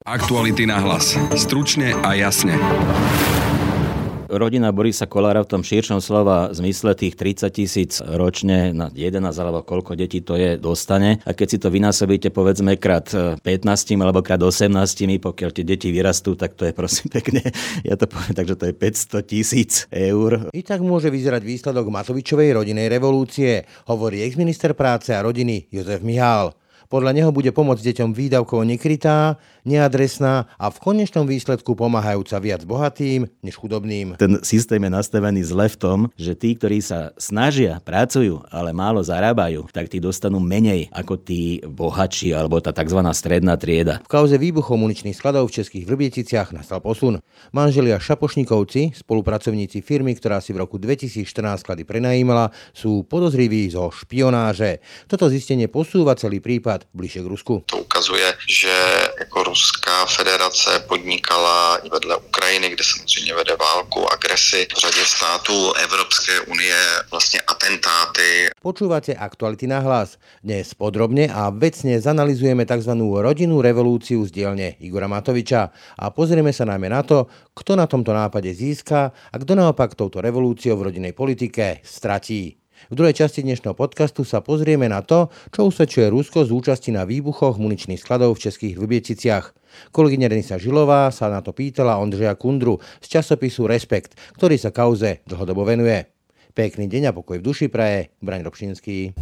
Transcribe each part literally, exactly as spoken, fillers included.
Aktuality na hlas. Stručne a jasne. Rodina Borisa Kollára v tom širšom slova zmysle tých tridsať tisíc ročne na jedenásť alebo koľko detí to je dostane. A keď si to vynásobíte povedzme krát pätnásť alebo krát osemnásť, pokiaľ tie deti vyrastú, tak to je prosím pekne, ja to poviem, takže to je päťsto tisíc eur. I tak môže vyzerať výsledok Matovičovej rodinej revolúcie, hovorí exminister práce a rodiny Jozef Mihál. Podľa neho bude pomoc deťom výdavkovo nekrytá, neadresná a v konečnom výsledku pomáhajúca viac bohatým než chudobným. Ten systém je nastavený zle v tom, že tí, ktorí sa snažia, pracujú, ale málo zarábajú, tak tí dostanú menej ako tí bohatší alebo tá tzv. Stredná trieda. V kauze výbuchov muničných skladov v Českých Vrběticích nastal posun. Manželia Šapošníkovci, spolupracovníci firmy, ktorá si v roku dvetisícštrnásť sklady prenajímala, sú podozriví zo špionáže. Toto zistenie posúva celý prípad bližšie k Rusku. To ukazuje, že jako Ruská federace podnikala i vedle Ukrajiny, kde samozřejmě vede válku, agresi v řadě států Evropské unie, vlastně atentáty. Počúvate Aktuality na hlas. Dnes podrobne a vecne zanalizujeme tzv. Rodinnú revolúciu z dielne Igora Matoviča a pozrieme sa najmä na to, kto na tomto nápade získa a kto naopak touto revolúciou v rodinnej politike stratí. V druhej časti dnešného podcastu sa pozrieme na to, čo usvedčuje Rusko z účasti na výbuchoch muničných skladov v Českých Vrběticích. Kolegyňa Denisa Žilová sa na to pýtala Ondřeja Kundru z časopisu Respekt, ktorý sa kauze dlhodobo venuje. Pekný deň a pokoj v duši praje Braň Robšinský.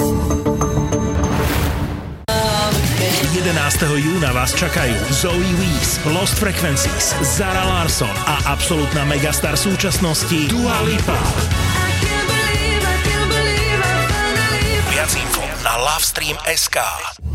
jedenásteho júna vás čakajú Zoe Weaves, Lost Frequencies, Zara Larsson a absolútna megastar súčasnosti Dua Lipa. Viac info na Lovestream bodka es ká.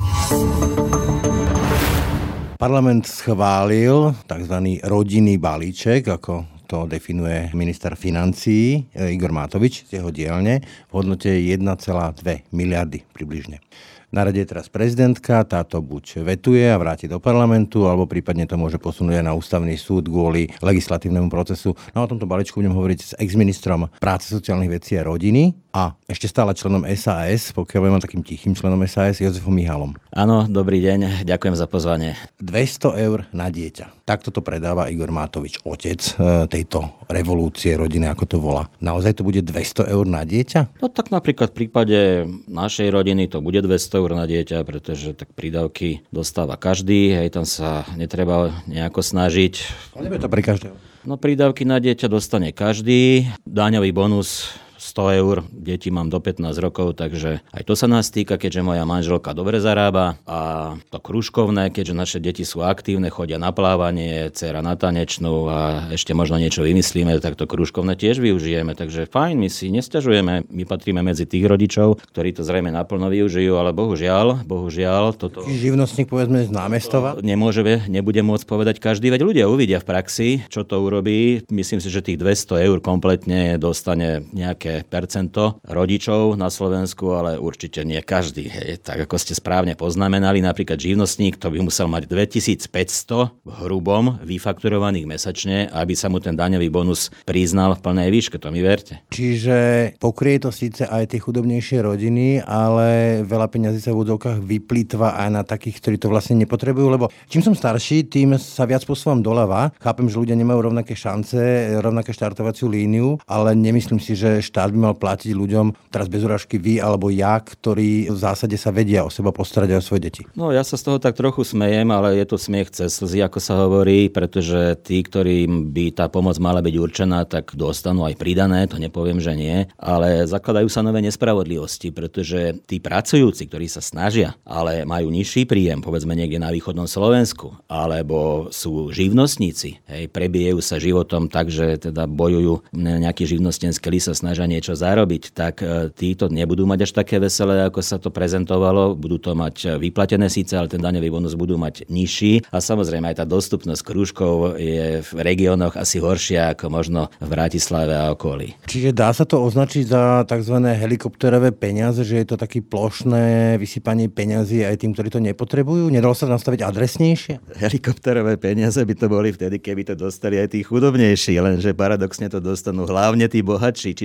Parlament schválil tzv. Rodinný balíček, ako to definuje minister financií Igor Matovič z jeho dielne, v hodnote jeden celá dva miliardy približne. Na rade je teraz prezidentka, táto buď vetuje a vráti do parlamentu, alebo prípadne to môže posunúť aj na ústavný súd kvôli legislatívnemu procesu. No o tomto balíčku budem hovoriť s exministrom práce, sociálnych vecí a rodiny a ešte stále členom es a es, pokiaľ budem takým tichým členom es a es, Jozefom Mihálom. Áno, dobrý deň, ďakujem za pozvanie. dvesto eur na dieťa. Takto to predáva Igor Matovič, otec tejto revolúcie rodiny, ako to volá. Naozaj to bude dvesto eur na dieťa? No tak napríklad v prípade našej rodiny to bude dvesto eur na dieťa, pretože tak prídavky dostáva každý, hej, tam sa netreba nejako snažiť. Ale nebude to pre každého. No prídavky na dieťa dostane každý, daňový bonus sto eur, deti mám do pätnásť rokov, takže aj to sa nás týka, keďže moja manželka dobre zarába a to krúžkovné, keďže naše deti sú aktívne, chodia na plávanie, dcera na tanečnú a ešte možno niečo vymyslíme, tak to krúžkovné tiež využijeme, takže fajn, my si nesťažujeme, my patríme medzi tých rodičov, ktorí to zrejme naplno využijú, ale bohužiaľ, bohužiaľ, toto... Živnostník, povedzme, z námestova? Nemôže, nebude môcť povedať každý, veď ľudia uvidia v praxi, čo to urobí. Myslím si, že tých dvesto eur kompletne dostane nejaké percento rodičov na Slovensku, ale určite nie každý. Hej. Tak ako ste správne poznamenali, napríklad živnostník, to by musel mať dvetisícpäťsto v hrubom vyfakturovaných mesačne, aby sa mu ten daňový bonus priznal v plnej výške, to mi verte. Čiže pokrie to síce aj tie chudobnejšie rodiny, ale veľa peňazí sa v úvodzovkách vyplýtva aj na takých, ktorí to vlastne nepotrebujú, lebo čím som starší, tým sa viac posúvam doľava. Chápem, že ľudia nemajú rovnaké šance, rovnaké štartovaciu líniu, ale nemyslím si, že štát by mal platiť ľuďom, teraz bez urážky vy alebo ja, ktorí v zásade sa vedia o seba postarať aj o svoje deti. No ja sa z toho tak trochu smejem, ale je to smiech cez slzy, ako sa hovorí, pretože tí, ktorým by tá pomoc mala byť určená, tak dostanú aj pridané, to nepoviem, že nie, ale zakladajú sa nové nespravodlivosti, pretože tí pracujúci, ktorí sa snažia, ale majú nižší príjem, povedzme niekde na východnom Slovensku, alebo sú živnostníci, hej, prebijajú sa životom tak, že teda bojujú nejaký živnostenský list, sa snažia niečo zarobiť, tak títo nebudú mať až také veselé, ako sa to prezentovalo. Budú to mať vyplatené síce, ale ten daňový bonus budú mať nižší. A samozrejme aj tá dostupnosť krúžkov je v regiónoch asi horšia ako možno v Bratislave a okolí. Čiže dá sa to označiť za tzv. Helikopterové peniaze, že je to také plošné vysypanie peňazí aj tým, ktorí to nepotrebujú? Nedalo sa nastaviť adresnejšie? Helikopterové peniaze by to boli vtedy, keby to dostali aj tí chudobnejší, lenže paradoxne to dostanú hlavne tí bohatší. Čiže helikopterové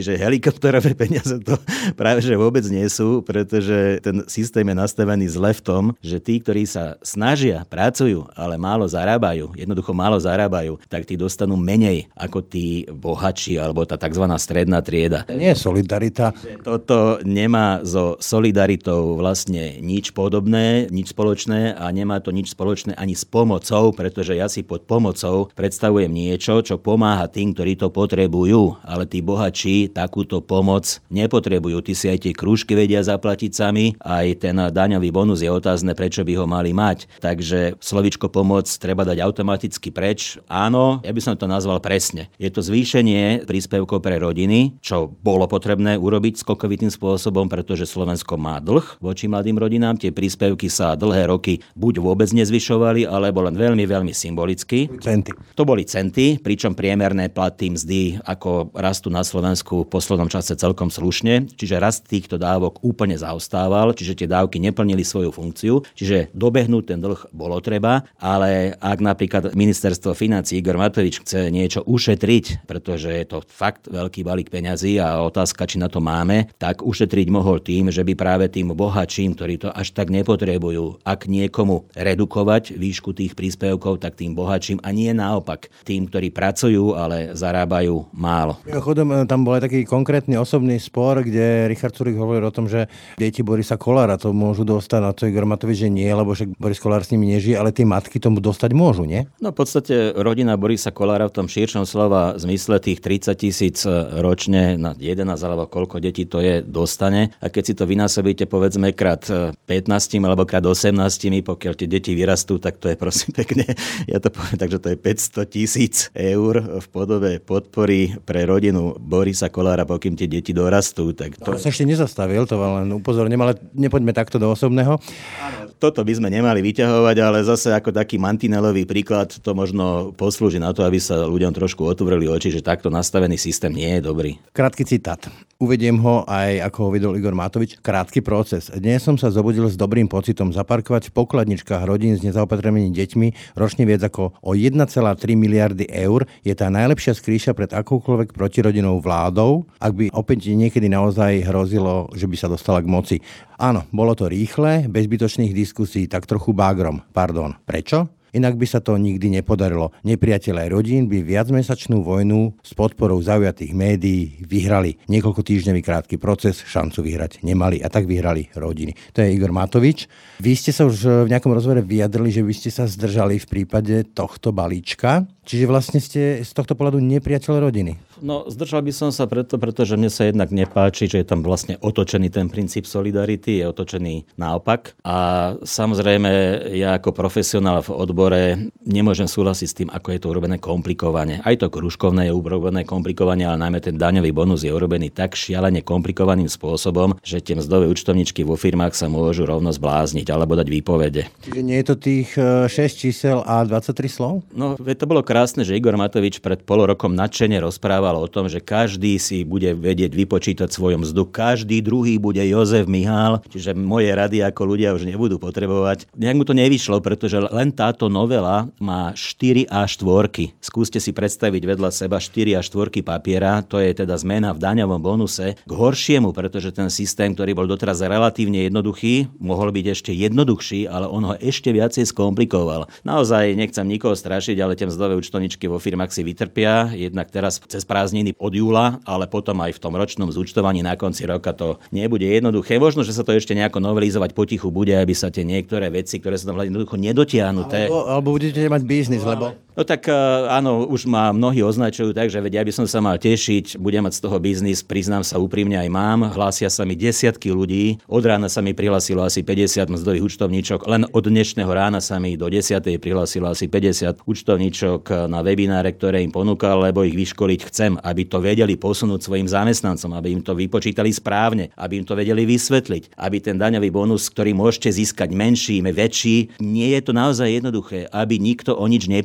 helikopterové peniaze to práve že vôbec nie sú, pretože ten systém je nastavený zle v tom, že tí, ktorí sa snažia, pracujú, ale málo zarábajú, jednoducho málo zarábajú, tak tí dostanú menej ako tí bohatší alebo tá tzv. Stredná trieda. Nie je solidarita. Toto nemá so solidaritou vlastne nič podobné, nič spoločné a nemá to nič spoločné ani s pomocou, pretože ja si pod pomocou predstavujem niečo, čo pomáha tým, ktorí to potrebujú, ale tí bohatší takúto pomoc nepotrebujú. Tí si aj tie krúžky vedia zaplatiť sami, aj ten daňový bonus je otázne, prečo by ho mali mať. Takže slovíčko pomoc treba dať automaticky preč. Áno, ja by som to nazval presne. Je to zvýšenie príspevkov pre rodiny, čo bolo potrebné urobiť skokovitým spôsobom, pretože Slovensko má dlh voči mladým rodinám. Tie príspevky sa dlhé roky buď vôbec nezvyšovali, alebo len veľmi, veľmi symbolicky. Centy. To boli centy, pričom priemerné platy mzdy ako rastú na Slovensku v poslednom čase celkom slušne, čiže rast týchto dávok úplne zaostával, čiže tie dávky neplnili svoju funkciu, čiže dobehnúť ten dlh bolo treba, ale ak napríklad ministerstvo financií Igor Matovič chce niečo ušetriť, pretože je to fakt veľký balík peňazí a otázka, či na to máme, tak ušetriť mohol tým, že by práve tým bohatším, ktorí to až tak nepotrebujú, ak niekomu redukovať výšku tých príspevkov, tak tým bohatším a nie naopak tým, ktorí pracujú, ale zarábajú málo. Chodom, tam bol aj taký konkrétny osobný spor, kde Richard Sulík hovoril o tom, že deti Borisa Kollára to môžu dostať, na to Igor Matovič, že nie, lebo však Boris Kollár s nimi nežije, ale tie matky tomu dostať môžu, nie? No v podstate rodina Borisa Kollára v tom širšom slova zmysle tých tridsať tisíc ročne na jedenásť alebo koľko detí to je, dostane. A keď si to vynásobíte povedzme krát pätnásť alebo krát osemnásť, pokiaľ tie deti vyrastú, tak to je prosím pekne, ja to poviem, takže to je päťsto tisíc eur v podobe podpory pre rodinu Borisa Kollára, pokým tie deti dorastú. Tak to... to sa ešte nezastavil, to len upozorním, ale nepoďme takto do osobného. Áno, toto by sme nemali vyťahovať, ale zase ako taký mantinelový príklad to možno poslúži na to, aby sa ľuďom trošku otvorili oči, že takto nastavený systém nie je dobrý. Krátky citát. Uvediem ho aj, ako ho videl Igor Matovič. Krátky proces. Dnes som sa zobudil s dobrým pocitom zaparkovať v pokladničkách rodín s nezaopatrenými deťmi ročne viac ako o jeden celá tri miliardy eur je tá najlepšia skrýša pred akoukoľvek protirodinou vládou, ak by opäť niekedy naozaj hrozilo, že by sa dostala k moci. Áno, bolo to rýchle, bez zbytočných diskusí, tak trochu bágrom. Pardon. Prečo? Inak by sa to nikdy nepodarilo. Nepriatelia rodín by viacmesačnú vojnu s podporou zaujatých médií vyhrali. Niekoľko týždňový krátky proces, šancu vyhrať nemali a tak vyhrali rodiny. To je Igor Matovič. Vy ste sa už v nejakom rozhovore vyjadrili, že by ste sa zdržali v prípade tohto balíčka. Čiže vlastne ste z tohto pohľadu nepriateľ rodiny. No, zdržal by som sa preto, pretože mne sa jednak nepáči, že je tam vlastne otočený ten princíp solidarity, je otočený naopak. A samozrejme, ja ako profesionál v odbore nemôžem súhlasiť s tým, ako je to urobené komplikovane. Aj to kružkovné je urobené komplikovane, ale najmä ten daňový bonus je urobený tak šialene komplikovaným spôsobom, že tie mzdové účtovničky vo firmách sa môžu rovno zblázniť alebo dať výpovede. Čiže nie je to tých šesť čísel a dvadsaťtri slov? No, to bolo krásne, že Igor Matovič pred pol rokom nadšene rozprával o tom, že každý si bude vedieť vypočítať svoju mzdu, každý druhý bude Jozef Mihál, čiže moje rady ako ľudia už nebudú potrebovať. Nejak mu to nevyšlo, pretože len táto novela má štyri a štvorky. Skúste si predstaviť vedľa seba štyri a štvorky papiera, to je teda zmena v daňovom bonuse k horšiemu, pretože ten systém, ktorý bol doteraz relatívne jednoduchý, mohol byť ešte jednoduchší, ale on ho ešte viacej skomplikoval. Naozaj nechcem nikoho strašiť, ale tie mzdové účtovničky vo firmách si vytrpia, jednak teraz cez prázdniny od júla, ale potom aj v tom ročnom zúčtovaní na konci roka to nebude jednoduché. Možno, že sa to ešte nejako novelizovať potichu bude, aby sa tie niektoré veci, ktoré sa tam jednoducho nedotiahnuté. Alebo, alebo budete mať biznis, lebo... No tak áno, už ma mnohí označujú tak, že veď ja by som sa mal tešiť, budem mať z toho biznis, priznám sa úprimne aj mám. Hlásia sa mi desiatky ľudí, od rána sa mi prihlásilo asi päťdesiat mzdových účtovníčok, len od dnešného rána sa mi do desiatej prihlásilo asi päťdesiat účtovníčok na webináre, ktoré im ponúkal, lebo ich vyškoliť chcem, aby to vedeli posunúť svojim zamestnancom, aby im to vypočítali správne, aby im to vedeli vysvetliť, aby ten daňový bonus, ktorý môžete získať menší, väčší, nie je to naozaj jednoduché, aby nikto o nič neprišiel.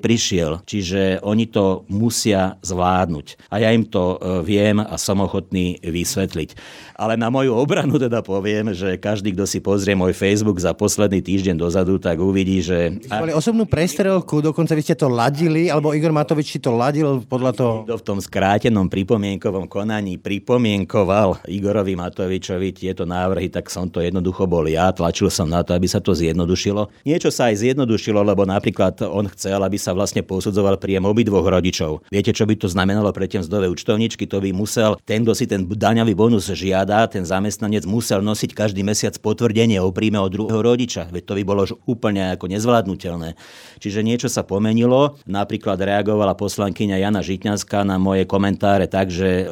nevidel. Čiže oni to musia zvládnuť. A ja im to viem a som ochotný vysvetliť. Ale na moju obranu teda poviem, že každý, kto si pozrie môj Facebook za posledný týždeň dozadu, tak uvidí, že... Vy ste mali osobnú prestrelku, dokonca vy ste to ladili, alebo Igor Matovič si to ladil podľa toho... Kto v tom skrátenom pripomienkovom konaní pripomienkoval Igorovi Matovičovi tieto návrhy, tak som to jednoducho bol ja. Tlačil som na to, aby sa to zjednodušilo. Niečo sa aj zjednodušilo, lebo napríklad on chcel, aby sa vlastne posudzoval príjem obidvoch rodičov. Viete, čo by to znamenalo pre tie mzdové účtovníčky? To by musel ten, kto si ten daňový bonus žiada, ten zamestnanec musel nosiť každý mesiac potvrdenie o príjme od druhého rodiča. Veď to by bolo úplne ako nezvládnutelné. Čiže niečo sa pomenilo. Napríklad reagovala poslankyňa Jana Žitňanská na moje komentáre tak, že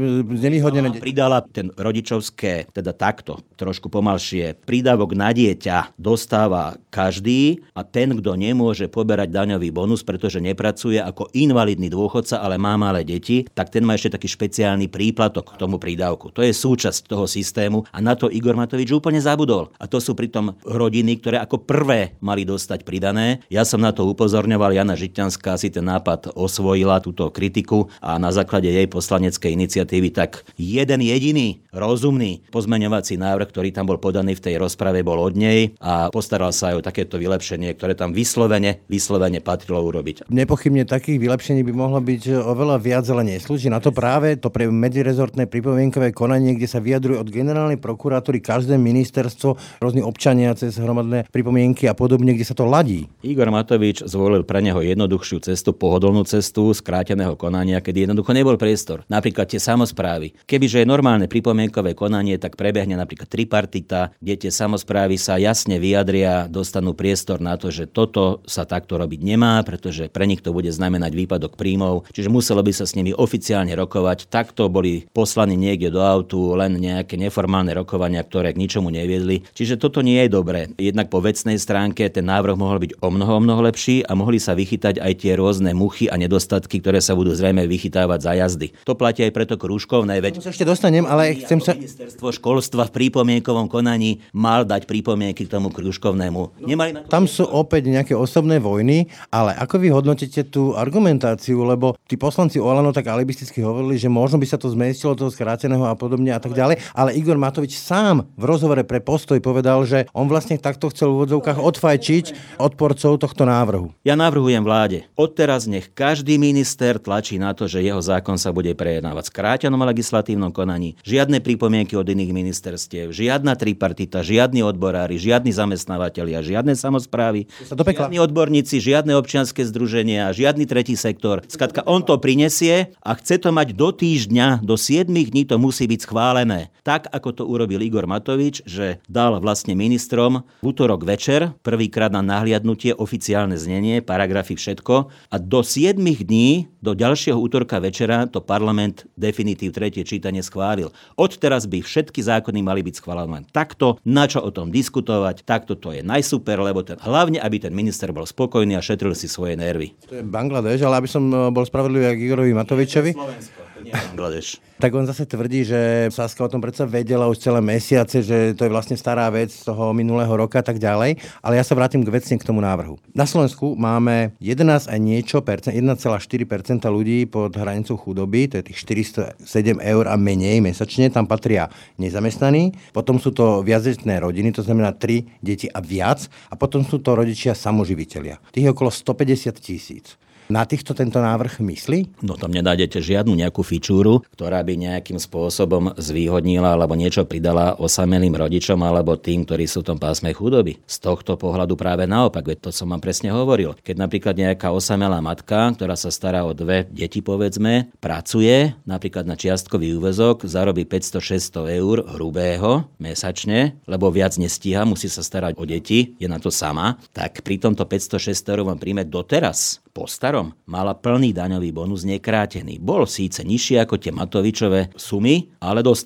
pridala ten rodičovské, teda takto, trošku pomalšie, prídavok na dieťa dostáva každý a ten, kto nemôže poberať daňový bonus, pretože nepracuje ako invalidný dôchodca, ale má malé deti, tak ten má ešte taký špeciálny príplatok k tomu prídavku. To je súčasť toho systému a na to Igor Matovič úplne zabudol. A to sú pritom rodiny, ktoré ako prvé mali dostať pridané. Ja som na to upozorňoval, Jana Žitňanská si ten nápad osvojila, túto kritiku a na základe jej poslaneckej iniciatívy tak jeden jediný rozumný pozmeňovací návrh, ktorý tam bol podaný v tej rozprave, bol od nej a postaral sa aj o takéto vylepšenie, ktoré tam vyslovene, vyslovene patrilo urobiť. Nepochybne takých vylepšení by mohlo byť oveľa viac, ale neslúži na to práve to pre medzirezortné pripomienkové konanie, kde sa vyjadruje od generálnej prokuratúry každé ministerstvo, rôzni občania cez hromadné pripomienky a podobne, kde sa to ladí. Igor Matovič zvolil pre neho jednoduchšiu cestu, pohodlnú cestu skráteného konania, kedy jednoducho nebol priestor. Napríklad tie samosprávy. Kebyže je normálne pripomienkové konanie, tak prebehne napríklad tripartita, kde tie samosprávy sa jasne vyjadria, dostanú priestor na to, že toto sa takto robiť nemá, pretože pre nich to bude znamenať výpadok príjmov, čiže muselo by sa s nimi oficiálne rokovať. Takto boli poslaní niekde do autu, len nejaké neformálne rokovania, ktoré k ničomu neviedli. Čiže toto nie je dobré. Jednak po vecnej stránke ten návrh mohol byť o mnoho, o mnoho lepší a mohli sa vychytať aj tie rôzne muchy a nedostatky, ktoré sa budú zrejme vychytávať za jazdy. To platí aj preto krúžkovné, veď ešte dostanem, ale chcem sa... Ministerstvo školstva v pripomienkovom konaní mal dať pripomienky k tomu krúžkovnému. Nemali na to... Tam sú opäť nejaké osobné vojny, ale ako vy hodnotíte tú argumentáciu, lebo tí poslanci Olano tak alibisticky hovorili, že možno by sa to zmestilo toho skráteného a podobne a tak ďalej, ale Igor Matovič sám v rozhovore pre Postoj povedal, že on vlastne takto chcel v úvodzovkách odfajčiť odporcov tohto návrhu. Ja navrhujem vláde, odteraz nech každý minister tlačí na to, že jeho zákon sa bude prejednávať v skrátenom legislatívnom konaní. Žiadne pripomienky od iných ministerstiev, žiadna tripartita, žiadni odborári, žiadni zamestnávateľia, žiadne samosprávy, žiadni odborníci, žiadne občianske združenia, žiadny tretí sektor. Skrátka, on to prinesie a chce to mať do týždňa, do siedmich dní to musí byť schválené. Tak, ako to urobil Igor Matovič, že dal vlastne ministrom v útorok večer, prvýkrát na nahliadnutie oficiálne znenie, paragrafy, všetko a do siedmich dní, do ďalšieho útorka večera to parlament definitív tretie čítanie schválil. Odteraz by všetky zákony mali byť schválené takto, na čo o tom diskutovať, takto to je najsuper, lebo ten, hlavne, aby ten minister bol spokojný a šetril si svoje nervy. To je Bangladeš, ale aby som bol spravodlivý ako Igorovi Matovičovi. Slovensko, to nie je Bangladeš. Tak on zase tvrdí, že Saska o tom predsa vedela už celé mesiace, že to je vlastne stará vec z toho minulého roka a tak ďalej. Ale ja sa vrátim k vecne k tomu návrhu. Na Slovensku máme jedenásť a niečo percent, jeden celá štyri percenta ľudí pod hranicou chudoby, to je tých štyristosedem eur a menej mesačne, tam patria nezamestnaní, potom sú to viacdetné rodiny, to znamená tri deti a viac, a potom sú to rodičia samoživitelia. Tých je okolo stopäťdesiat tisíc. Na týchto tento návrh myslí? No tam nedájdete žiadnu nejakú fičúru, ktorá by nejakým spôsobom zvýhodnila alebo niečo pridala osamelým rodičom alebo tým, ktorí sú v tom pásme chudoby. Z tohto pohľadu práve naopak, veď to som vám presne hovoril. Keď napríklad nejaká osamelá matka, ktorá sa stará o dve deti, povedzme, pracuje napríklad na čiastkový úväzok, zarobí päťsto šesťsto eur hrubého mesačne, lebo viac nestíha, musí sa starať o deti, je na to sama, tak pri tomto päťsto šesťsto eur vám príjme doteraz po starom mala plný daňový bonus nekrátený. Bol síce nižší ako tie Matovičové sumy, ale dostala ho.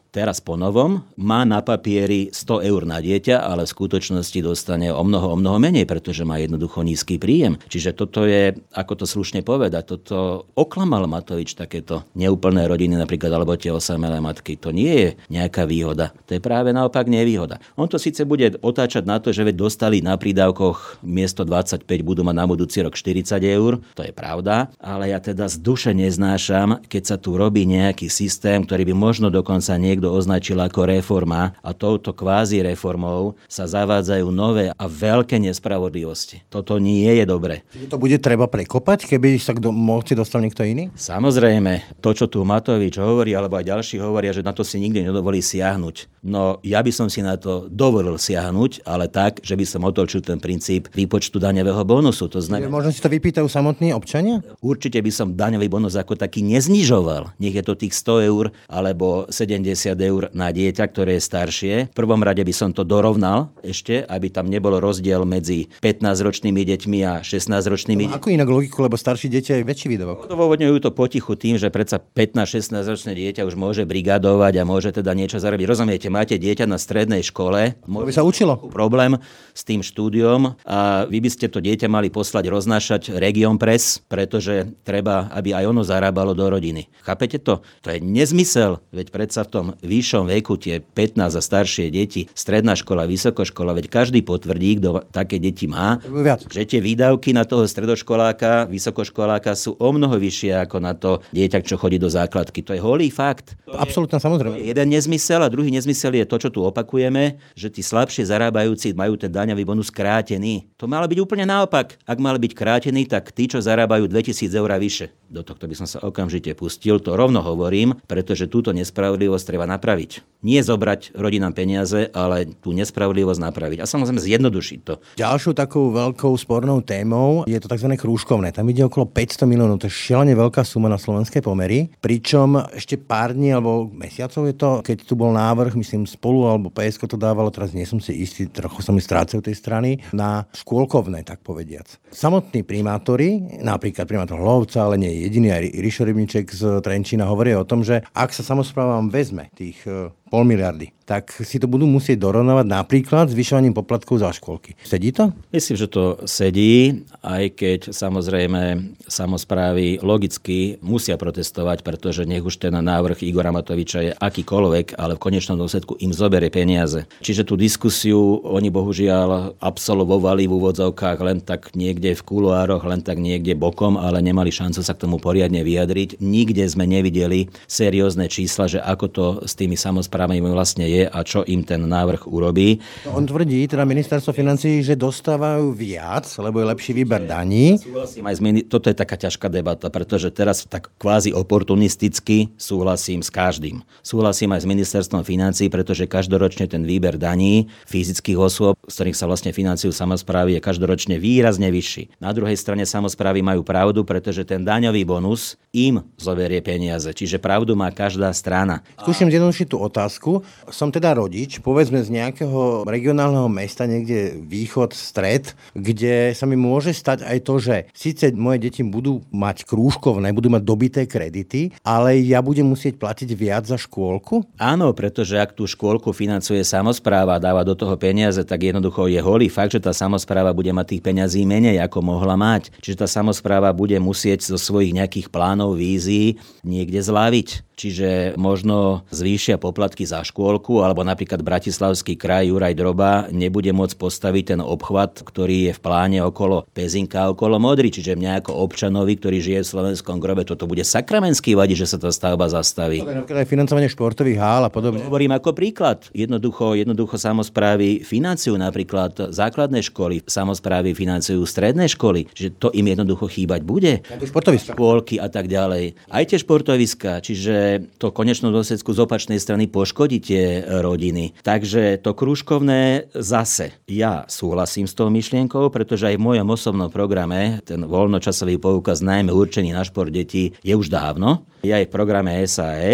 teraz po novom má na papieri sto eur na dieťa, ale v skutočnosti dostane o mnoho, o mnoho menej, pretože má jednoducho nízky príjem. Čiže toto je, ako to slušne povedať, toto oklamal Matovič takéto neúplné rodiny napríklad, alebo tie osamelé matky. To nie je nejaká výhoda. To je práve naopak nevýhoda. On to síce bude otáčať na to, že veď dostali na prídavkoch miesto dvadsaťpäť budú mať na budúci rok štyridsať eur. To je pravda, ale ja teda z duše neznášam, keď sa tu robí nejaký systém, ktorý by možno dokonca niekto označil ako reforma a touto kvázi reformou sa zavádzajú nové a veľké nespravodlivosti. Toto nie je dobre. To bude treba prekopať, keby sa k moci dostal niekto iný? Samozrejme, to, čo tu Matovič hovorí, alebo aj ďalší hovoria, že na to si nikdy nedovolí siahnuť. No, ja by som si na to dovolil siahnuť, ale tak, že by som otočil ten princíp výpočtu daňového bonusu. To znamená, možno si to vypýtajú samotní občania? Určite by som daňový bonus ako taký neznižoval. Nech je to tých sto eur alebo sedemdesiat eur na dieťa, ktoré je staršie. V prvom rade by som to dorovnal ešte, aby tam nebol rozdiel medzi pätnásťročnými deťmi a šestnásťročnými. No, ako inak logiku, lebo staršie dieťa je väčší výdavok. Odôvodňujú to potichu tým, že predsa pätnásť šestnásť ročné dieťa už môže brigadovať a môže teda niečo zarobiť. Rozumiete, máte dieťa na strednej škole, to by sa učilo. Problém s tým štúdiom a vy by ste to dieťa mali poslať roznášať Region Press, pretože treba, aby aj ono zarábalo do rodiny. Chápete to? To je nezmysel, veď predsa v tom vyššom veku tie pätnásť a staršie deti, stredná škola, vysokoškola, veď každý potvrdí, kto také deti má, že tie výdavky na toho stredoškoláka, vysokoškoláka sú o mnoho vyššie ako na to dieťa, čo chodí do základky. To je holý fakt. Absolútne, samozrejme. Jeden nezmysel a druhý nezmysel je to, čo tu opakujeme, že tí slabšie zarábajúci majú ten daňový bonus krátený. To malo byť úplne naopak. Ak mal byť krátený, tak tí, čo zarábajú dvetisíc eur a vyše. Do tohto by som sa okamžite pustil, to rovno hovorím, pretože túto nespravodlivosť treba napraviť. Nie zobrať rodinám peniaze, ale tú nespravodlivosť napraviť. A samozrejme zjednodušiť to. Ďalšou takou veľkou spornou témou je to tzv. Krúžkovné. Tam ide okolo päťsto miliónov. To je šialene veľká suma na slovenské pomery. Pričom ešte pár dní alebo mesiacov je to, keď tu bol návrh, myslím Spolu alebo pé es ká to dávalo, teraz nie som si istý, trochu sa mi strácajú tej strany, na škôlkovné, tak povediac. Samotní primátori, napríklad primátor Hlovca, ale nie jediný, aj Rišo Rybníček z Trenčína hovoria o tom, že ak sa samosprávam vezme tých pol miliardy, tak si to budú musieť dorovnávať napríklad zvyšovaním poplatkov za škôlky. Sedí to? Myslím, že to sedí, aj keď samozrejme samosprávy logicky musia protestovať, pretože nech už ten návrh Igora Matoviča je akýkoľvek, ale v konečnom dôsledku im zoberie peniaze. Čiže tú diskusiu oni bohužiaľ absolvovali v úvodzovkách len tak niekde v kuloároch, len tak niekde bokom, ale nemali šancu sa k tomu poriadne vyjadriť. Nikde sme nevideli seriózne čísla, že ako to s tými samosprávami vlastne je a čo im ten návrh urobí. On tvrdí, teda ministerstvo financií, že dostávajú viac, lebo je lepší výber daní. Súhlasím aj s mini- Toto je taká ťažká debata, pretože teraz tak kvázi oportunisticky súhlasím s každým. Súhlasím aj s ministerstvom financií, pretože každoročne ten výber daní fyzických osôb, z ktorých sa vlastne financujú samosprávy, je každoročne výrazne vyšší. Na druhej strane samosprávy majú pravdu, pretože ten daňový bonus im zoberie peniaze. Čiže pravdu má každá strana. Skúšam zjednodušiť tú otázku. Som teda rodič, povedzme z nejakého regionálneho mesta, niekde východ, stred, kde sa mi môže stať aj to, že síce moje deti budú mať krúžkovné, budú mať dobité kredity, ale ja budem musieť platiť viac za škôlku? Áno, pretože ak tú škôlku financuje samospráva a dáva do toho peniaze, tak jednoducho je holý fakt, že tá samospráva bude mať tých peňazí menej, ako mohla mať. Čiže tá samospráva bude musieť zo svojich nejakých plánov, vízií niekde zľaviť. Čiže možno zvýšia poplatky za škôlku, alebo napríklad Bratislavský kraj Juraj Droba nebude môcť postaviť ten obchvat, ktorý je v pláne okolo Pezinka, okolo Modry. Čiže mňa ako občanovi, ktorý žije v Slovenskom grobe, toto bude sakramenský vadiť, že sa tá stavba zastaví. Napríklad aj financovanie športových hál a podobne. Hovorím ako príklad. Jednoducho, jednoducho samosprávy financujú napríklad základné školy, samosprávy financujú stredné školy, čiže to im jednoducho chýbať bude. Športoviska. Škôlky a tak ďalej. Aj tie športoviska, čiže to konečnú dôsledku z opačnej strany poškodí tie rodiny. Takže to krúžkovné zase. Ja súhlasím s tou myšlienkou, pretože aj v mojom osobnom programe ten voľnočasový poukaz najmä určený na šport detí je už dávno. Je aj v programe es a es, čiže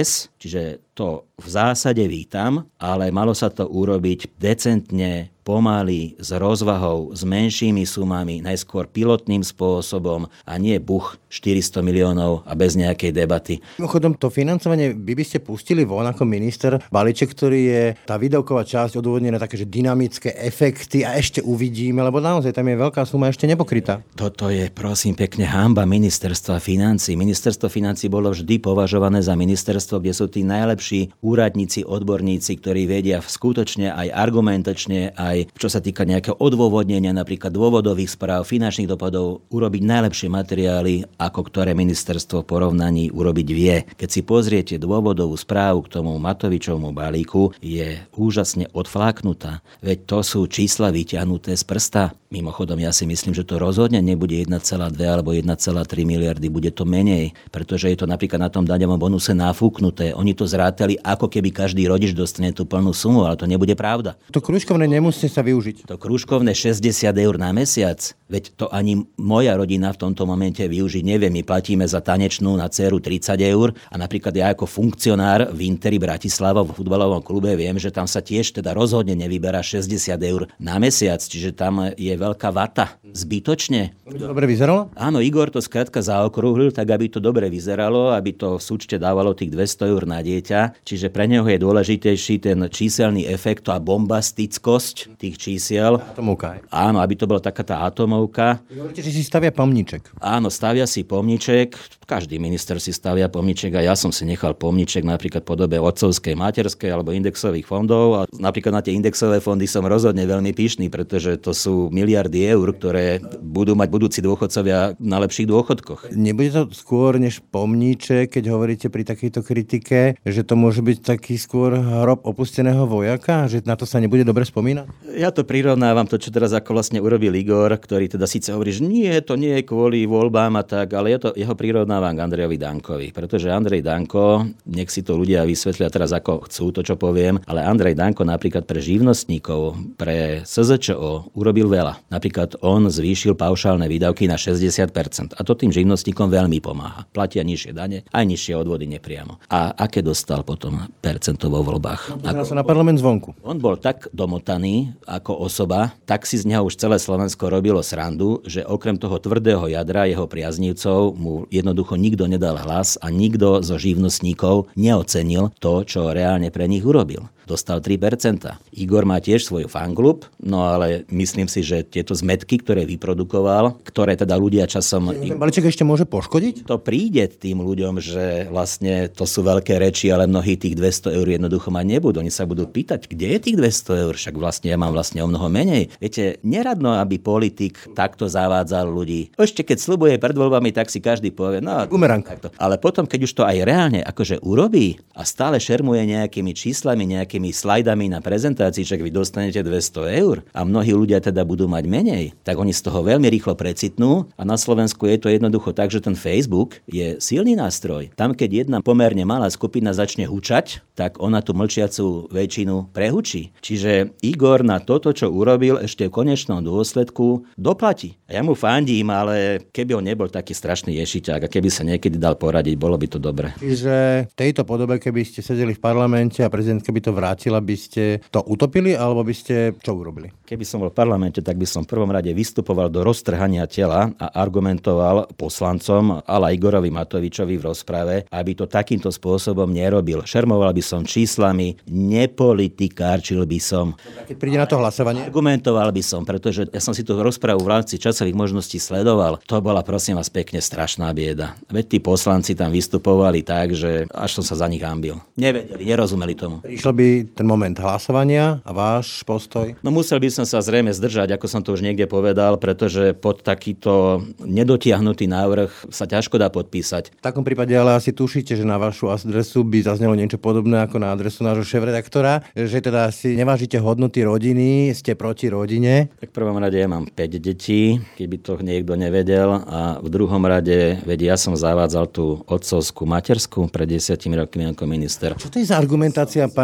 Čiže to v zásade vítam, ale malo sa to urobiť decentne, pomaly, s rozvahou, s menšími sumami, najskôr pilotným spôsobom a nie buch štyristo miliónov a bez nejakej debaty. Mimochodom, to financovanie vy by ste pustili von ako minister balíček, ktorý je tá výdavková časť odôvodnená také, že dynamické efekty a ešte uvidíme, lebo naozaj tam je veľká suma ešte nepokrytá. Toto je, prosím, pekne hanba ministerstva financií. Ministerstvo financií bolo vždy považované za ministerstvo, kde sú tí najlepší úradníci, odborníci, ktorí vedia skutočne aj argumentačne, aj čo sa týka nejakého odôvodnenia, napríklad dôvodových správ, finančných dopadov, urobiť najlepšie materiály, ako ktoré ministerstvo v porovnaní urobiť vie. Keď si pozriete dôvodovú správu k tomu Matovičovmu balíku, je úžasne odfláknutá. Veď to sú čísla vyťahnuté z prsta. Mimochodom, ja si myslím, že to rozhodne nebude jedna celá dva alebo jedna celá tri miliardy, bude to menej, pretože je to napríklad na tom daňovom bonuse nafúknuté. Oni to zrátali, ako keby každý rodič dostane tú plnú sumu, ale to nebude pravda. To krúžkovné nemusí sa využiť. To krúžkovné šesťdesiat eur na mesiac, veď to ani moja rodina v tomto momente využiť nevie. My platíme za tanečnú na dceru tridsať eur a napríklad ja ako funkcionár v Interi Bratislava v futbalovom klube viem, že tam sa tiež teda rozhodne nevyberá šesťdesiat eur na mesiac, čiže tam je veľká vata. Zbytočne. Aby to dobre vyzeralo? Áno, Igor to skrátka zaokrúhlil, tak aby to dobre vyzeralo, aby to v súčte dávalo tých dvesto eur na dieťa, čiže pre neho je dôležitejší ten číselný efekt a bombastickosť tých čísiel. Atomovka. Áno, aby to bola taká tá atomovka. Vy hovoríte, že si stavia pomníček. Áno, stavia si pomníček. Každý minister si stavia pomníček a ja som si nechal pomníček napríklad v podobe otcovskej, materskej alebo indexových fondov a napríklad na tie indexové fondy som rozhodne veľmi pyšný, pretože to sú miliardy eur, ktoré budú mať budúci dôchodcovia na lepších dôchodkoch. Nebude to skôr než pomníček, keď hovoríte pri takejto kritike, že to môže byť taký skôr hrob opusteného vojaka, že na to sa nebude dobre spomínať? Ja to prirovnávam to, čo teraz ako vlastne urobil Igor, ktorý teda síce hovorí, že nie, to nie je kvôli voľbám a tak, ale ja to jeho prirovnávam k Andrejovi Dankovi, pretože Andrej Danko, nech si to ľudia vysvetlia teraz ako chcú to, čo poviem, ale Andrej Danko napríklad pre živnostníkov, pre es zet čo o urobil veľa. Napríklad on zvýšil paušálne výdavky na šesťdesiat percent a to tým živnostníkom veľmi pomáha. Platia nižšie dane, aj nižšie odvody nepriamo. A aké dostal potom percento vo voľbách? Pozeral sa na parlament zvonku. On bol tak domotaný ako osoba, tak si z neho už celé Slovensko robilo srandu, že okrem toho tvrdého jadra jeho priaznívcov mu jednoducho nikto nedal hlas a nikto zo živnostníkov neocenil to, čo reálne pre nich urobil. Dostal tri percentá. Igor má tiež svoj fanklub, no ale myslím si, že tieto zmetky, ktoré vyprodukoval, ktoré teda ľudia časom... Ten balíček ešte môže poškodiť? To príde tým ľuďom, že vlastne to sú veľké reči, ale mnohí tých dvesto eur jednoducho mať nebudú. Oni sa budú pýtať, kde je tých dvesto eur, však vlastne ja mám vlastne o mnoho menej. Viete, neradno, aby politik takto zavádzal ľudí. Ešte keď sľubuje pred voľbami, tak si každý povie, no... Bumerang. Takto. Ale potom, keď už to aj reálne akože urobí a stále šermuje nejakými číslami, nejakými slajdami na prezentácii, že vy dostanete dvesto eur a mnohí ľudia teda budú mať menej, tak oni z toho veľmi rýchlo precitnú a na Slovensku je to jednoducho tak, že ten Facebook je silný nástroj. Tam, keď jedna pomerne malá skupina začne hučať, tak ona tú mlčiacu väčšinu prehučí. Čiže Igor na toto, čo urobil, ešte v konečnom dôsledku doplatí. A ja mu fandím, ale keby on nebol taký strašný ješiťák a keby sa niekedy dal poradiť, bolo by to dobre. Čiže v tejto podobe, keby ste sedeli v parlamente a prezidentka by to vrátila, by ste to utopili, alebo by ste čo urobili? Keby som bol v parlamente, tak by som v prvom rade vystupoval do roztrhania tela a argumentoval poslancom ala Igorovi Matovičovi v rozprave, aby to takýmto spôsobom nerobil. Šermoval by som číslami, nepolitikárčil by som. Keď príde na to hlasovanie? Argumentoval by som, pretože ja som si tú rozpravu v rámci časových možností sledoval. To bola, prosím vás, pekne strašná bieda. Veď tí poslanci tam vystupovali tak, že až som sa za nich hanbil. Nevedeli, nerozumeli tomu. Prišiel by ten moment hlasovania a váš postoj? No musel by som sa zrejme zdržať, ako som to už niekde povedal, pretože pod takýto nedotiahnutý návrh sa ťažko dá podpísať. V takom prípade ale asi tušíte, že na vašu adresu by zaznelo niečo podobné ako na adresu nášho šéfredaktora, že teda si nevážite hodnoty rodiny, ste proti rodine. Tak v prvom rade ja mám päť detí, keby to niekto nevedel, a v druhom rade, veď ja som zavádzal tú otcovskú materskú pred desiatimi rokmi ako minister. Čo to je za argumentácia, pán ex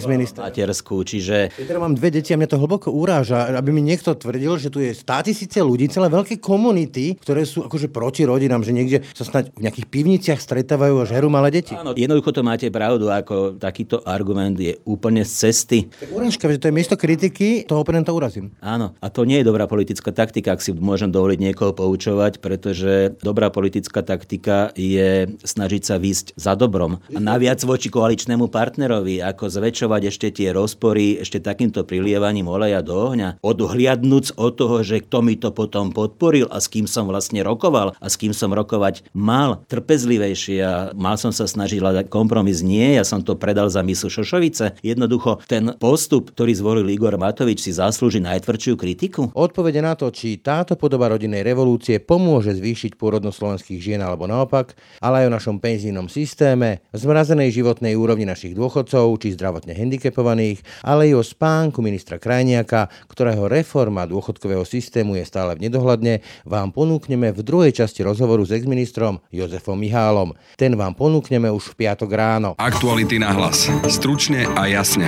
exminister. Materskú, čiže... Ja teda mám dve deti a mňa to hlboko uráža, aby mi niekto tvrdil, že tu je státisíce ľudí, celé veľké komunity, ktoré sú akože proti rodinám, že niekde sa snáď v nejakých pivniciach stretávajú a žerú malé deti. Áno, jednoducho to máte pravdu, ako takýto argument je úplne z cesty. Urážka, že to je miesto kritiky, toho oponenta urazím. Áno, a to nie je dobrá politická taktika, ak si môžem dovoliť niekoho poučovať, pretože dobrá politická taktika je snažiť sa výsť za dobrom. A naviac voči koaličnému partnerovi, ako zväčšovať ešte tie rozpory, ešte takýmto prilievaním oleja do ohňa, odhliadnúc od toho, že kto mi to potom podporil a s kým som vlastne rokoval a s kým som rokovať mal trpezlivejšie a mal som sa snažiť hľadať kompromis. Nie, ja som to predal za misu Šošovice. Jednoducho ten postup, ktorý zvolil Igor Matovič, si zaslúži najtvrdšiu kritiku? Odpovede na to, či táto podoba rodinnej revolúcie pomôže zvýšiť pôrodnosť slovenských žien alebo naopak, ale aj o našom penzijnom systéme, zmrazenej životnej úrovni našich dôchodcov či zdravotne handicapovaných, ale i o spánku ministra Krajniaka, ktorého reforma dôchodkového systému je stále v nedohľadne, vám ponúkneme v druhej časti rozhovoru s exministrom Jozefom Mihálom. Ten vám ponúkneme už v piatok ráno. Aktuality na hlas. Stručne a jasne.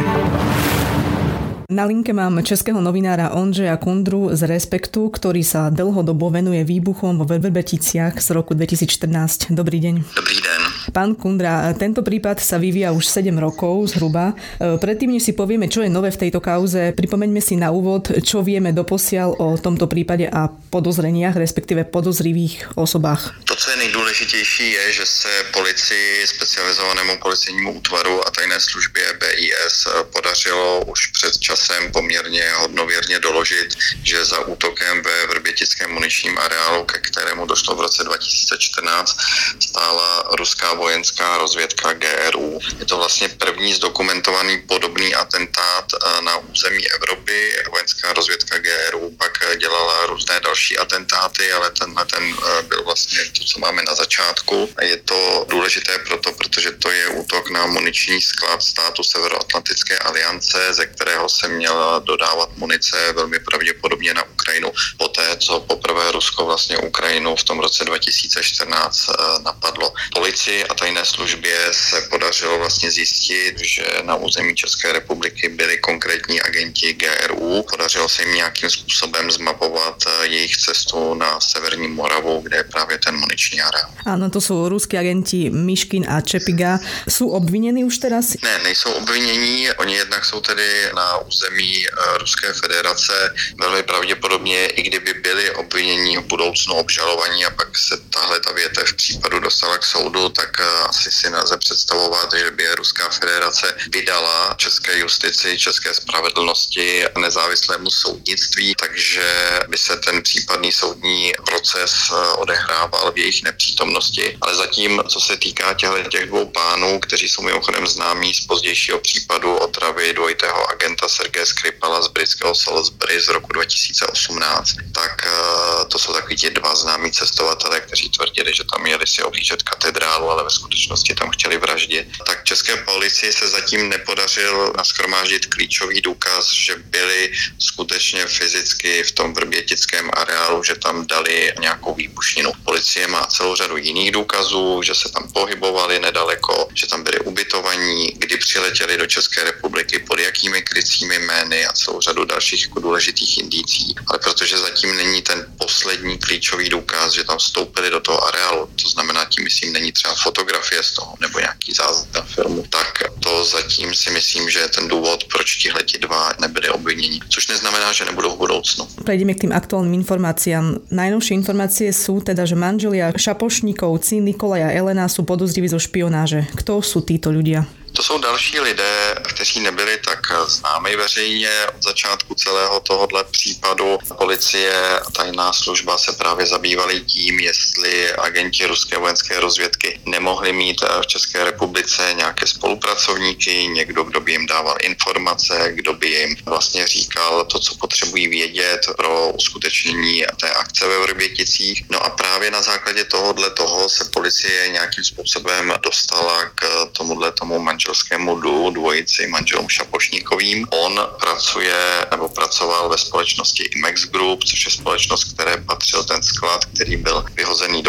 Na linke mám českého novinára Ondřeja Kundru z Respektu, ktorý sa dlhodobo venuje výbuchom vo Vrbeticiach z roku dvetisícštrnásť. Dobrý deň. Dobrý deň. Pán Kundra, tento prípad sa vyvíja už sedem rokov zhruba. Predtým, než si povieme, čo je nové v tejto kauze, pripomeňme si na úvod, čo vieme doposiaľ o tomto prípade a podozreniach, respektíve podozrivých osobách. To, co je nejdůležitější, je, že se policii, specializovanému policejnímu útvaru a tajné službě B I S podařilo už před časem poměrně hodnověrně doložit, že za útokem ve vrbětickém muničním areálu, ke kterému došlo v roce dva tisíce čtrnáct, stála ruská vojenská rozvědka G R U. Je to vlastně první zdokumentovaný podobný atentát na území Evropy. Vojenská rozvědka G R U pak dělala různé další atentáty, ale tenhle ten byl vlastně to, co máme na začátku. Je to důležité proto, protože to je útok na muniční sklad státu Severoatlantické aliance, ze kterého se měla dodávat munice velmi pravděpodobně na Ukrajinu poté, co poprvé Rusko vlastně Ukrajinu v tom roce dva tisíce čtrnáct napadlo. Policii a tajné službě se podařilo vlastně zjistit, že na území České republiky byli konkrétní agenti G R U. Podařilo se jim nějakým způsobem zmapovat jejich cestu na severní Moravu, kde je právě ten muniční areál. Áno, to sú ruskí agenti Myškin a Čepiga. Sú obvinení už teraz? Ne, nejsou obvinění. Oni jednak jsou tedy na území Ruské federace. Velmi pravděpodobně, i kdyby byli obvinění v budoucnu obžalovaní a pak se tahle ta větev případu dostala k soudu, tak asi si nelze představovat, že by Ruská federace vydala české justici, české spravedlnosti, nezávislému soudnictví, takže by se ten případný soudní proces odehrával v jejich nepřítomnosti. Ale zatím, co se týká těch dvou pánů, kteří jsou mimochodem známí z pozdějšího případu otravy dvojitého agenta Sergeje Skripala z britského Salisbury z roku dva tisíce osmnáct, tak to jsou takový ti dva známí cestovatelé, kteří tvrdili, že tam jeli si oblížet katedrálu, ale ve skutečnosti tam chtěli vraždit. Tak české policii se zatím nepodařil nashromáždit klíčový důkaz, že byli skutečně fyzicky v tom vrbětickém areálu, že tam dali nějakou výbušninu. Policie má celou řadu jiných důkazů, že se tam pohybovali nedaleko, že tam byli ubytovaní, kdy přiletěli do České republiky, pod jakými krycími jmény a celou řadu dalších jako důležitých indicí. Ale protože zatím není ten poslední klíčový důkaz, že tam vstoupili do toho areálu, to znamená, tím myslím, není třeba fotografie z toho nebo nějaký záznam filmu, tak to zatím si myslím, že je ten důvod, proč tihleti dva nebyli obviněni. Což neznamená, že nebudou v budoucnu. Prejdeme k tým aktuálnym informáciám. Najnovšie informácie sú teda, že manželia Šapošníkovci Nikolaj a Elena sú podozriví zo špionáže. Kto sú títo ľudia? To jsou další lidé, kteří nebyli tak známi veřejně od začátku celého tohohle případu. Policie a tajná služba se právě zabývaly tím, jestli agenti ruské vojenské rozvědky nemohli mít v České republice nějaké spolupracovníky, někdo, kdo by jim dával informace, kdo by jim vlastně říkal to, co potřebují vědět pro uskutečnění té akce ve Vrběticích. No a právě na základě tohohle toho se policie nějakým způsobem dostala k tomuhle tomu manželskému duu, dvojici manželům Šapošníkovým. On pracuje nebo pracoval ve společnosti Imex Group, což je společnost, které patřil ten sklad, který byl vyhozený do povětří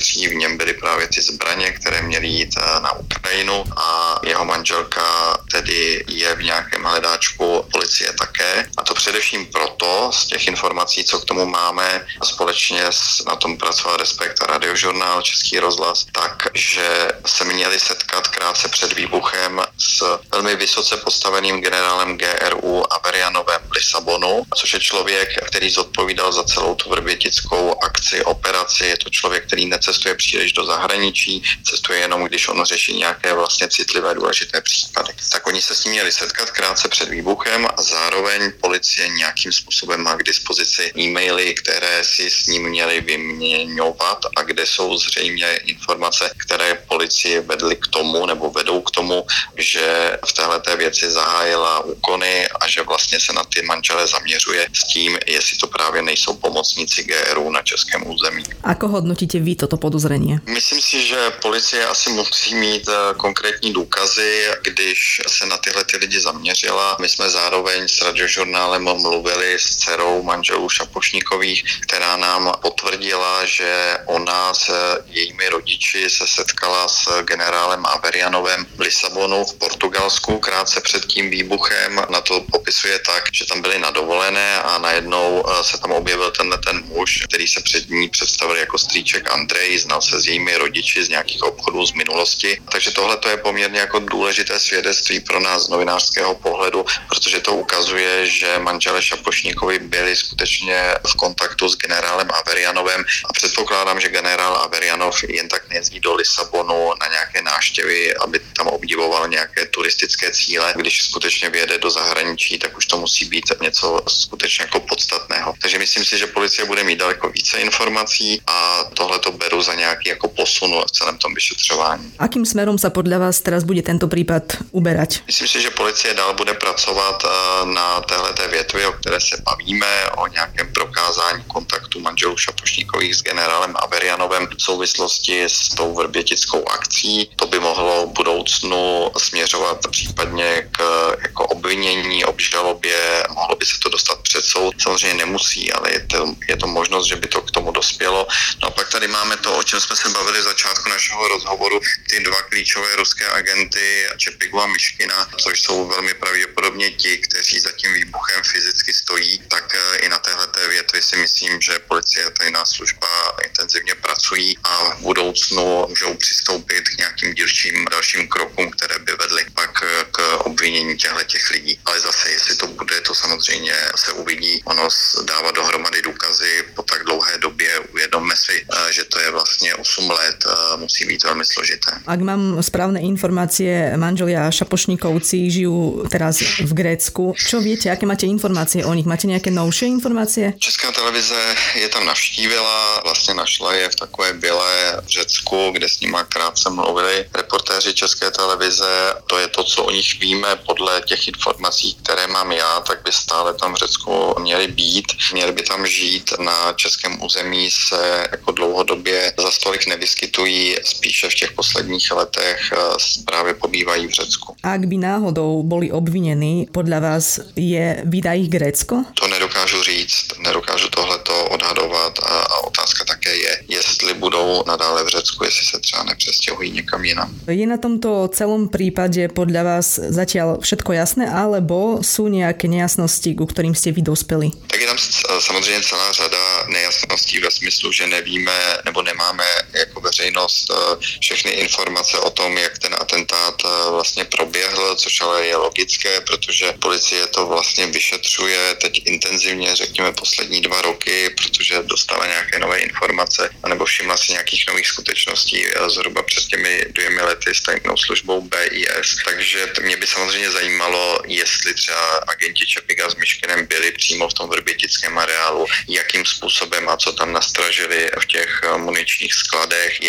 závětří, v něm byly právě ty zbraně, které měly jít na Ukrajinu a jeho manželka tedy je v nějakém hledáčku policie také. A to především proto, z těch informací, co k tomu máme, společně na tom pracoval Respekt a Radiožurnál, Český rozhlas, takže se měli setkat krátce před výbuchem s velmi vysoce postaveným generálem G R U Averianovem v Lisabonu, což je člověk, který zodpovídal za celou tu vrbětickou akci, operaci. Je to člověk, který necestuje příliš do zahraničí, cestuje jenom, když on řeší nějaké vlastně citlivé, důležité případy. Tak oni se s ním měli setkat krátce před výbuchem a zároveň policie nějakým způsobem má k dispozici e-maily, které si s ním měli vyměňovat a kde jsou zřejmě informace, které policie vedly k tomu nebo vedou k tomu, že v téhleté věci zahájila úkony a že vlastně se na ty manžele zaměřuje s tím, jestli to právě nejsou pomocníci G R U na českém území. Ako hodnotíte vy toto podozrenie? Myslím si, že policie asi musí mít konkrétní důkazy, když se na tyhle ty lidi zaměřila. My jsme zároveň s Radiožurnálem mluvili s dcerou manželů Šapošníkových, která nám potvrdila, že ona s jejími rodiči se setkala s generálem Averianovem v Lisabonu v Portugalsku krátce před tím výbuchem. Na to popisuje tak, že tam byli na dovolené a najednou se tam objevil tenhle ten muž, který se před ní představil jako strýček Andrej, znal se s jejími rodiči z nějakých obchodů z minulosti. Takže tohle to je poměrně jako důležité svědectví pro nás z novinářského pohledu, protože to ukazuje, že manželé Šapošníkovi byli skutečně v kontaktu s generálem Averianovem a předpokládám, že generál Averianov jen tak nejezdí do Lisabonu na nějaké návštěvy, aby tam obdivoval nějaké turistické cíle. Když skutečně vyjede do zahraničí, tak už to musí být něco skutečně jako podstatného. Takže myslím si, že policie bude mít daleko více informací a tohle to beru za nějaký jako posun v celém tom vyšetřování. Akým smerom sa podľa vás teraz bude tento prípad uberať? Myslím si, že policie dál bude pracovat na téhleté větvi, o které se bavíme, o nějakém prokázání kontaktu manželů Šapošníkových s generálem Averianovem v souvislosti s tou vrbětickou akcí. To by mohlo v budoucnu směřovat případně k jako obvinění, obžalobě, mohlo by se to dostat před soud. Samozřejmě nemusí, ale je to, je to možnost, že by to k tomu dospělo. No a pak tady máme to, o čem jsme se bavili v začátku našeho rozhovoru, ty dva klíčové ruské agenty, Čepigu a Myškina, což jsou velmi pravděpodobně ti, kteří za tím výbuchem fyzicky stojí, tak i na téhleté větvi si myslím, že policie a tajná služba intenzivně pracují a v budoucnu můžou přistoupit k nějakým dílčím dalším krokům, které by vedly pak k obvinění těchto lidí. Ale zase, jestli to bude, to samozřejmě se uvidí. Ono dává dohromady důkazy po tak dlouhé době. Uvědomme si, že to je vlastně osm let, musí být velmi složité. Ak mám správne informácie, manželia Šapošníkovci žijú teraz v Grécku. Čo viete, aké máte informácie o nich? Máte nejaké novšie informácie? Česká televize je tam navštívila, vlastně našla je v takové byle v Řecku, kde s nima krátce mluvili reportéři České televize. To je to, co o nich víme podle těch informací, které mám já, tak by stále tam v Řecku měli být. Měli by tam žít. Na českém území se jako dlouhodobě za stolik nevyskytují, spíše v těch posledních letech právě pobývají v Řecku. Ak by náhodou boli obvinení, podľa vás je vydá ich Grécko? To nedokážu říct, nedokážu tohleto odhadovat a, a otázka také je, jestli budou nadále v Řecku, jestli se třeba nepřestěhují někam jinam. Je na tomto celom prípade podľa vás zatiaľ všetko jasné, alebo sú nejaké nejasnosti, ku ktorým ste vy dospeli? Tak je tam samozřejmě celá řada nejasností ve smyslu, že nevíme nebo nemáme jako veřejnost všechny informace o tom, jak ten atentát vlastně proběhl, což ale je logické, protože policie to vlastně vyšetřuje teď intenzivně, řekněme poslední dva roky, protože dostala nějaké nové informace, anebo všimla si nějakých nových skutečností zhruba před těmi dvěmi lety s tajnou službou B I S. Takže mě by samozřejmě zajímalo, jestli třeba agenti Čepiga s Myškinem byli přímo v tom vrbětickém areálu, jakým způsobem a co tam nastražili v těch muničních skladech,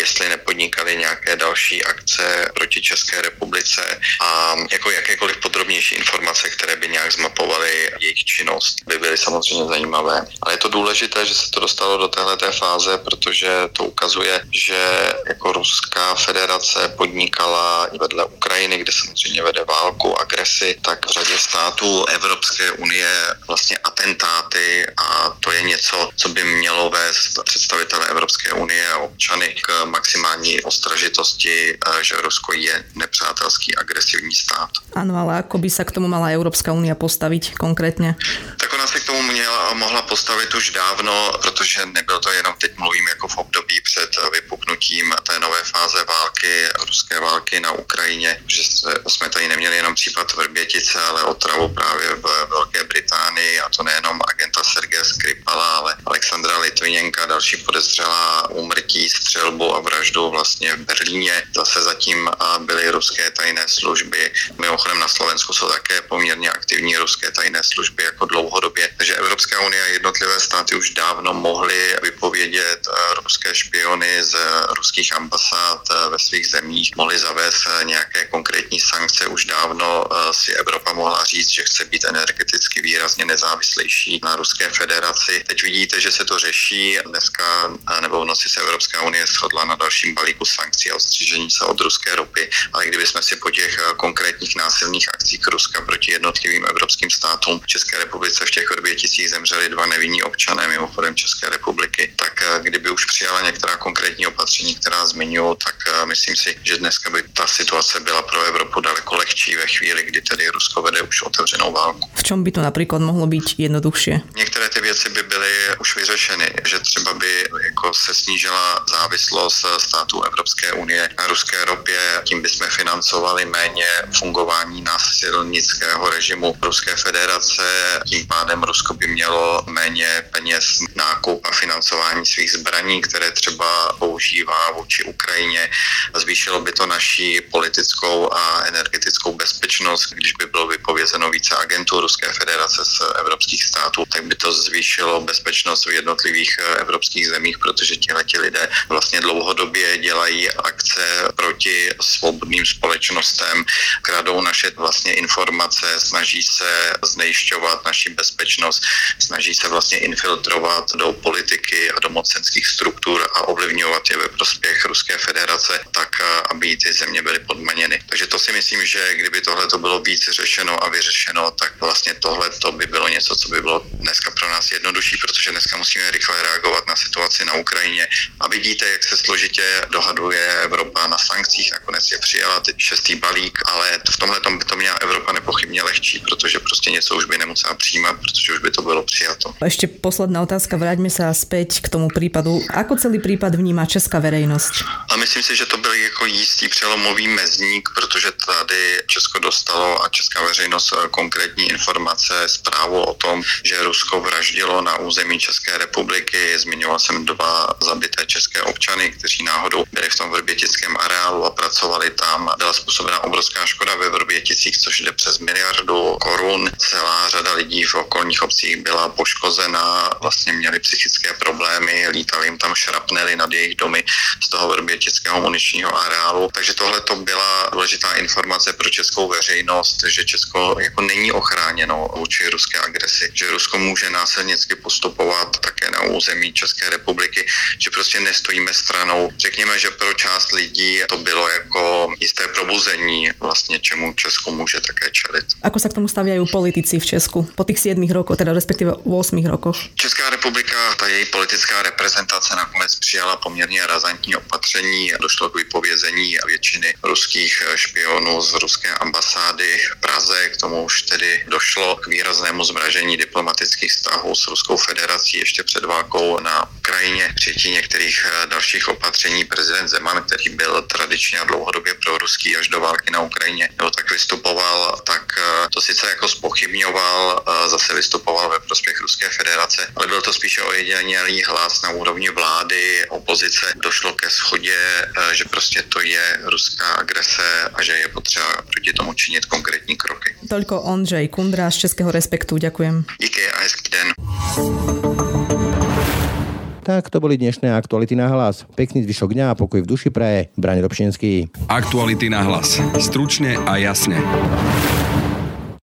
jestli nepodnikali nějaké další akce proti České republice a jako jakékoliv podrobnější informace, které by nějak zmapovaly jejich činnost, by byly samozřejmě zajímavé. Ale je to důležité, že se to dostalo do téhleté fáze, protože to ukazuje, že jako Ruská federace podnikala i vedle Ukrajiny, kde samozřejmě vede válku, agresi, tak v řadě států Evropské unie vlastně atentáty a to je něco, co by mělo vést představitele Evropské unie a občany k maximální ostražitosti, že Rusko je nepřátelský agresivní stát. Áno, ale ako by sa k tomu mala Európska únia postaviť konkrétne? Tak ona se k tomu měla, mohla postavit už dávno, protože nebyl to jenom, teď mluvím jako v období před vypuknutím té nové fáze války, ruské války na Ukrajině, že jsme tady neměli jenom případ Vrbětice, ale otravu právě v Velké Británii, a to nejenom agenta Sergeje Skripala, ale Alexandra Litvinenka, další podezřelá úmrtí, střelbu a vraždu vlastně v Berlíně. Zase zatím byly ruské tajné služby. Mimochodem na Slovensku jsou také poměrně aktivní ruské tajné služby jako dlouhodobě. Takže Evropská unie a jednotlivé státy už dávno mohly vypovědět ruské špiony z ruských ambasád ve svých zemích, mohly zavést nějaké konkrétní sankce. Už dávno si Evropa mohla říct, že chce být energeticky výrazně nezávislejší na Ruské federaci. Teď vidíte, že se to řeší. Dneska nebo v noci se Evropská unie shodla na dalším balíku sankcí a odstřižení se od ruské ropy. Ale kdybychom si po těch konkrétních násilných akcích Ruska proti jednotlivým evropským státům v České republice v těch Vrběticích zemřeli dva nevinní občané mimochodem České republiky, tak kdyby už přijala některá konkrétní opatření, která zmiňuji, tak myslím si, že dneska by ta situace byla pro Evropu daleko lehčí ve chvíli, kdy tedy Rusko vede už otevřenou válku. V čom by to napríklad mohlo byť jednoduchšie? Některé ty věci by byly už vyřešeny, že třeba by jako se snížila závislost států Evropské unie na ruské ropě, tím bychom financovali méně fungování násilnického režimu Ruské federace, tím pádem Rusko by mělo méně peněz na nákup a financování svých zbraní, které třeba používá vůči Ukrajině. Zvýšilo by to naši politickou a energetickou bezpečnost, když by bylo vypovězeno více agentů Ruské federace z evropských států, tak by to zvýšilo bezpečnost v jednotlivých evropských zemích, protože tihleti lidé vlastně dlouhodobě dělají akce proti svobodným společnostem, kradou naše vlastně informace, snaží se znejišťovat naši bezpečnost, snaží se vlastně infiltrovat do politiky a do mocenských struktur a ovlivňovat je ve prospěch Ruské federace, tak aby ty země byly podmaněny. Takže to si myslím, že kdyby tohle to bylo víc řešeno a vyřešeno, tak vlastně tohle to by bylo něco, co by bylo dneska pro nás jednodušší, protože dneska musíme rychle reagovat na situaci na Ukrajině. A vidíte, jak se složitě dohaduje Evropa na sankcích, nakonec je přijala teď šestý balík, ale v tomhle tom by to měla Evropa nepochybně lehčí, protože prostě něco už by nemusela přijímat, protože už by to bylo přijato. Ešte posledná otázka, vráťme sa späť k tomu prípadu. Ako celý prípad vníma česká verejnosť? A myslím si, že to byl jako jistý přelomový mezník, protože tady Česko dostalo a česká veřejnost konkrétní informace, zprávu o tom, že Rusko vraždilo na území České republiky. Zmiňoval jsem dva zabité české občany, kteří náhodou byli v tom vrbětickém areálu a pracovali tam. Byla způsobena obrovská škoda ve Vrběticích, což jde přes miliardu korun. Celá řada lidí v okolních obcích byla poškozená, vlastně měli psychické problémy, lítali jim tam šrapnely nad jejich domy z toho vrbětického muničního areálu. Takže tohle to byla důležitá informace pro českou veřejnost, že Česko jako není ochráněno vůči ruské agresi, že Rusko může násilnicky postupovat také na území České republiky, že prostě nestojíme stranou. Řekněme, že pro část lidí to bylo jako jisté probuzení, vlastně čemu Česko může také čelit. Ako sa k tomu staviajú politici v Česku po tých siedmich rokoch, teda respektíve ôsmich rokoch? Česká republika, ta její politická reprezentace nakonec přijala poměrně razantní opatření. Došlo k vypovězení většiny ruských špionů z ruské ambasády v Praze. K tomu už tedy došlo k výraznému zmražení diplomatických vztahů s Ruskou federací ještě před válkou na Ukrajině. Přijetí některých dalších opatření prezident Zeman, který byl tradičně a dlouhodobě proruský až do války na Ukrajině, nebo tak vystupoval, tak to sice jako zpochybňoval, zase vystupoval ve prospěch Ruské federace, ale byl to spíše ojedinělý hlas na úrovni vlády, opozice. Došlo ke shodě, že prostě to je ruská agrese a že je potřeba proti tomu činit konkrétní kroky. Toľko Ondřej Kundra z Českého Respektu. Ďakujem. Díky a hezký den. Tak to boli dnešné Aktuality na hlas. Pekný zvyšok dňa a pokoj v duši praje Braň Robšinský. Aktuality na hlas. Stručne a jasne.